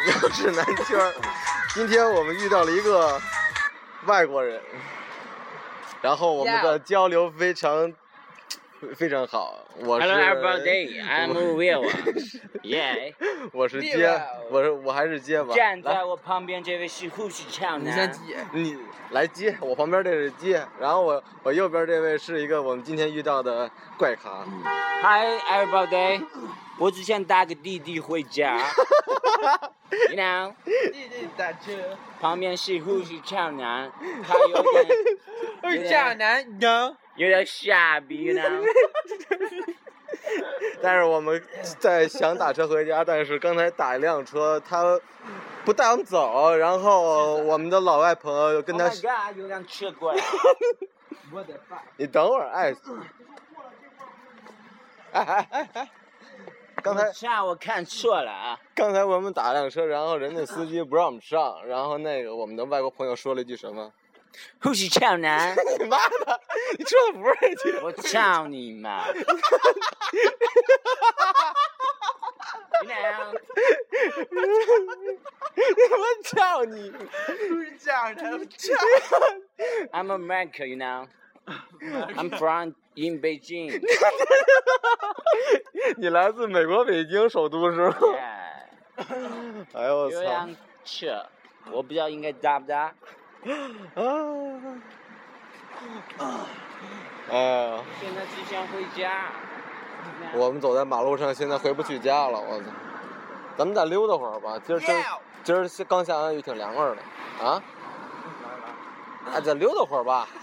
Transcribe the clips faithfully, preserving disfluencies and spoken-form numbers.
又是南圈儿。今天我们遇到了一个外国人，然后我们的交流非常非常好。我是 Hello everybody, I'm Will. Yeah. 我是街，我是我还是街吧。 站在我旁边这位是护士长男。 你来接，我旁边这是接，然后我我右边这位是一个我们今天遇到的怪咖。 Hi everybody. 我只想搭个滴滴回家。You know? 滴滴打车。 旁边是护士长男，他有点。 护士长男 no。 有点傻逼 you know？ 但是我们在想打车回家，但是刚才打一辆车，他不带我们走，然后我们的老外朋友跟他。 Oh my god！ 有辆车过来。 你等会儿，哎。哎哎哎哎！刚才上我看错了啊！ 刚才我们打辆车，然后人家司机不让我们上，然后那个我们的外国朋友说了一句什么？ 护士长男！ 你妈的！你说的不是这句。 我操你妈！你俩。 我操你！ 护士长男，我操 ！I'm American, you know. I'm from in Beijing. 你来自美国北京首都是吗？ Yeah. 哎呦我操！ 有辆车，我不知道应该搭不搭。 啊！哎呀！ 现在只想回家。 我们走在马路上，现在回不去家了，我操！咱们再溜达会儿吧，今儿今儿今儿刚下完雨，挺凉快的，啊？哎，再溜达会儿吧。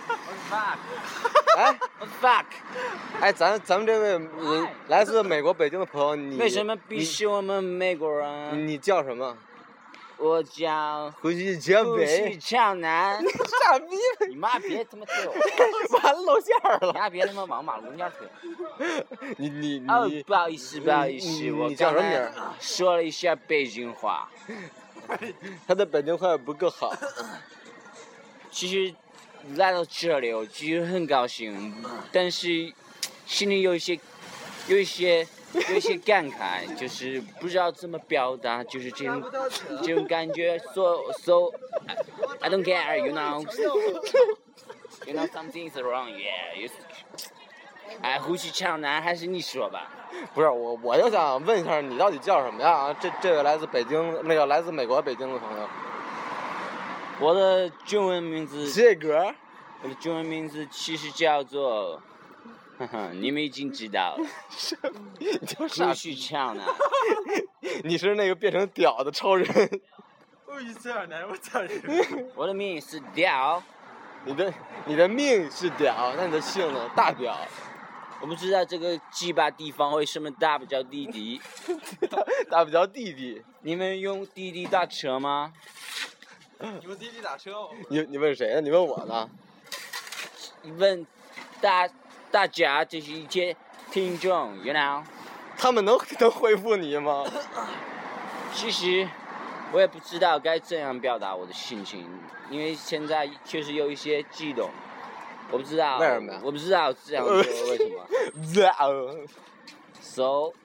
哎 ，fuck！ 哎，咱咱们这位呃来自美国北京的朋友，你为什么鄙视我们美国人？ 你叫什么？ 我叫胡须江北。 胡须长男。 傻逼！ 你妈别他妈推我！ 完了露馅了！ 你妈别他妈往马路中间推！ 你你你！ 哦，不好意思，不好意思，我你叫什么名？ 说了一下北京话。 他的北京话不够好。 其实来到这里，我其实很高兴，但是心里有一些有一些有一些感慨，就是不知道怎么表达，就是这种这种感觉。So so I don't care, you know. You know something is wrong, yeah. You. 哎，胡须长男，还是你说吧。 不是我，我就想问一下，你到底叫什么呀？这这位来自北京，那个来自美国北京的朋友。 我的中文名字。 这个。 我的中文名字其实叫做，呵呵，你们已经知道了。胡须长男。 你是那个变成屌的超人。 护士长男，我操你！ 我的命是屌。 你的你的命是屌，那你的姓呢？大屌。 我不知道这个鸡巴地方为什么大不叫弟弟。 大不叫弟弟。 你们用滴滴打车吗？ 你们滴滴打车哦。 你你问谁呢？你问我呢？ 问大大家这是一些听众 ，you know。 他们能能回复你吗？ 其实我也不知道该怎样表达我的心情，因为现在确实有一些激动。我不知道。 为什么呀？ 我不知道这样做为什么。So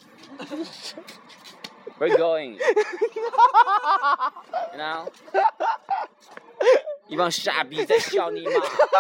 we're going. You know. 一帮傻逼在笑你妈！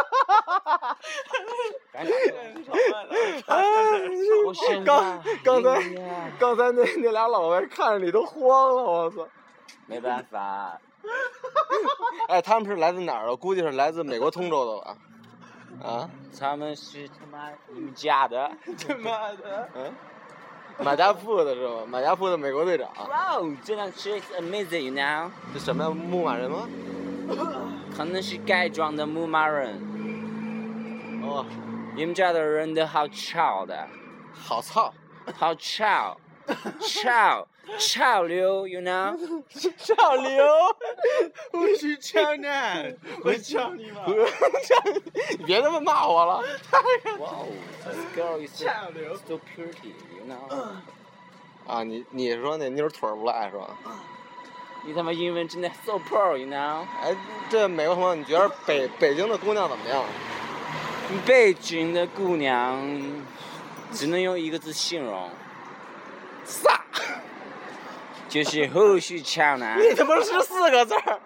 我现在刚刚才刚才那那俩老外看着你都慌了，我操！ 没办法。 哎，他们是来自哪儿的？估计是来自美国通州的吧？啊？ 他们是他妈你们家的？ 他妈的！ 嗯。马家铺的是吗？马家铺的美国队长。 哇哦，这辆车 is amazing, you know。 这什么呀？牧马人吗？ 可能是改装的牧马人。 哦， 你们家的人都好吵的。 好操！ 好吵，潮潮流 ，you know。 潮流。 我是潮男，我操你妈！ 你别他妈骂我了。 Wow, this girl is so pretty, you know. 啊，你你说那妞腿儿不赖是吧？ 你他妈英文真的 so pro, you know. 哎，这美国朋友，你觉得北北京的姑娘怎么样？ 北京的姑娘只能用一个字形容， 飒。 就是胡须强男。 你他妈是四个字儿，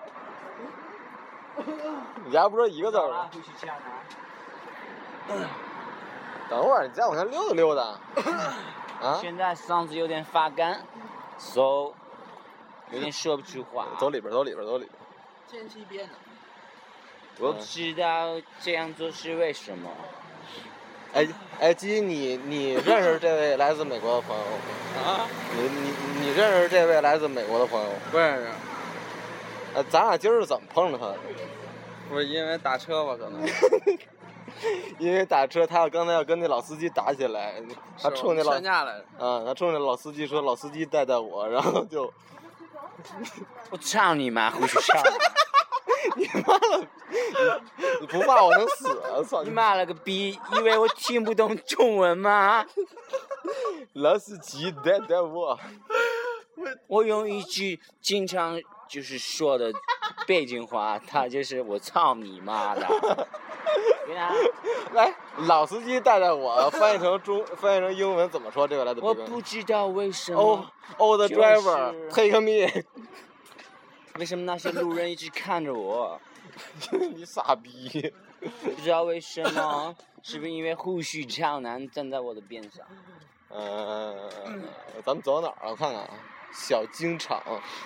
你家不是一个字儿吗？ 胡须强男。 等会儿，你再往前溜达溜达。啊？ 现在嗓子有点发干 ，so 有点说不出话。 走里边，走里边，走里边。 天气变了。 我不知道这样做是为什么。 哎哎，基，你你认识这位来自美国的朋友吗？ 啊？ 你你你认识这位来自美国的朋友吗？ 不认识。 呃，咱俩今儿是怎么碰着他的？ 不是因为打车吧？可能。 因为打车，他要刚才要跟那老司机打起来，他冲那老劝架来着。 啊，他冲那老司机说：“老司机带带我。”然后就， 我操你妈，胡须强！ 你妈了！你不骂我能死啊！操你妈了个逼！以为我听不懂中文吗？ 老司机带带我。 我用一句经常就是说的北京话，他就是我操你妈的！ 来，老司机带带我，翻译成中，翻译成英文怎么说？这个来自我不知道为什么。 哦哦，the driver take me。 为什么那些路人一直看着我？ 你傻逼！ 不知道为什么，是不是因为胡须强男站在我的边上？ 嗯、呃，咱们走到哪儿了？我看看啊，小京厂。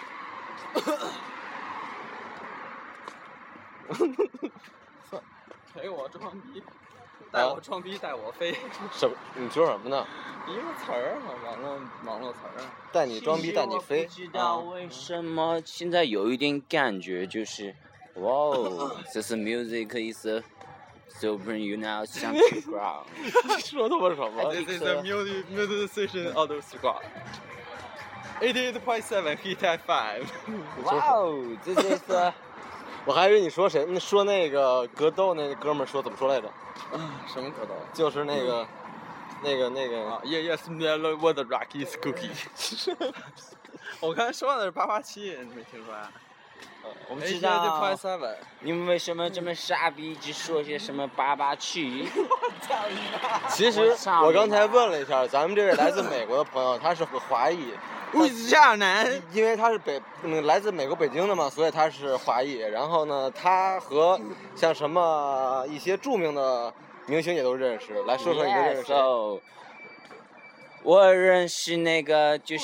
陪我装逼，带我装逼，带我飞。 什么？你说什么呢？ 一个词儿嘛，网络网络词儿。 带你装逼，带你飞。 不知道为什么现在有一点感觉，就是哇哦，这是 music is a super you now something ground。 你说他妈什么 This is a music musician of the squad. eighty-eight point seven hit at five. 哇哦，这是个。 我还以为你说谁？那说那个格斗那哥们儿说怎么说来着？ 啊，什么格斗？ 就是那个，那个那个啊 ，Yeah yes, what the Rockies cookie。我刚才说的是八八七，你没听出来？ 我不知道。 eighty-eight point seven。 你们为什么这么傻逼，一直说些什么八八七？ 其实我刚才问了一下，咱们这位来自美国的朋友，他是个华裔。 胡须强男， 因为他是北，嗯，来自美国北京的嘛，所以他是华裔。然后呢，他和像什么一些著名的明星也都认识。来说说你的认识谁？ Yes, 我认识那个就是，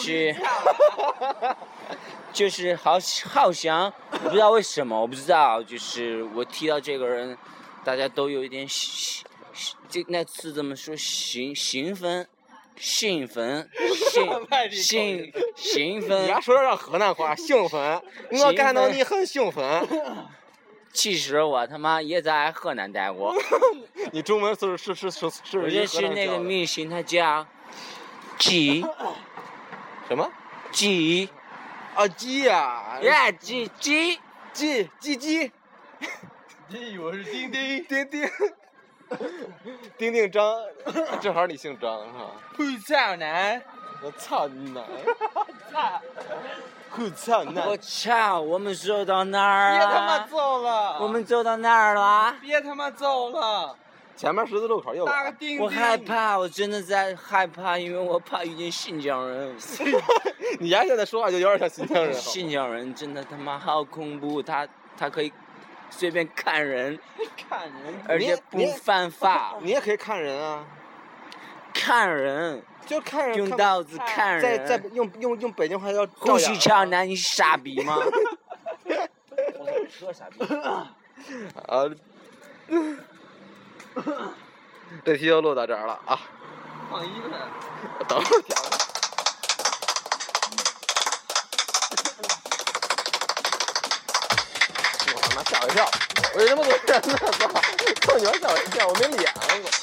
就是好好像我不知道为什么，我不知道，就是我提到这个人，大家都有一点兴，这那词怎么说？兴兴奋。兴奋，兴兴兴奋。 你还说让河南话，兴奋，我看到你很兴奋。 其实我他妈也在河南待过。 你中文是是是是是。 我认识那个明星，他叫鸡。 什么？ 鸡。 啊鸡呀！ 呀鸡鸡鸡鸡鸡。 鸡，我是丁丁丁丁。丁丁张，正好你姓张是吧？ 胡操男， 我操你奶！操！胡操男！ 我操！我们走到哪儿了？ 别他妈走了！ 我们走到哪儿了？ 别他妈走了！ 前面十字路口右。 打个钉钉。 我害怕，我真的在害怕，因为我怕遇见新疆人。 你丫现在说话就有点像新疆人。 新疆人真的他妈好恐怖，他他可以。随便看人， 看人， 而且不犯法。 你也可以看人啊， 看人， 就看人， 用刀子看人。 再再用用用北京话叫胡须强男，你傻逼吗？我说傻逼。 啊，这题就录到这儿了啊。 放一个。 等会儿调。吓我一跳！我这他妈多人呢！操！操你妈吓我一跳！我没脸了！